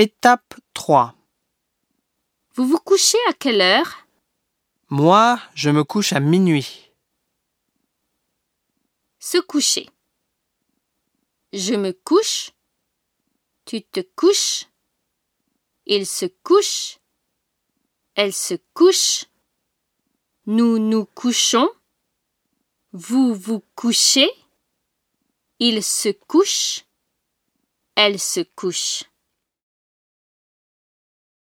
Étape 3. Vous vous couchez à quelle heure? Moi, je me couche à minuit. Se coucher. Je me couche. Tu te couches. Il se couche. Elle se couche. Nous nous couchons. Vous vous couchez. Il se couche. Elle se couche.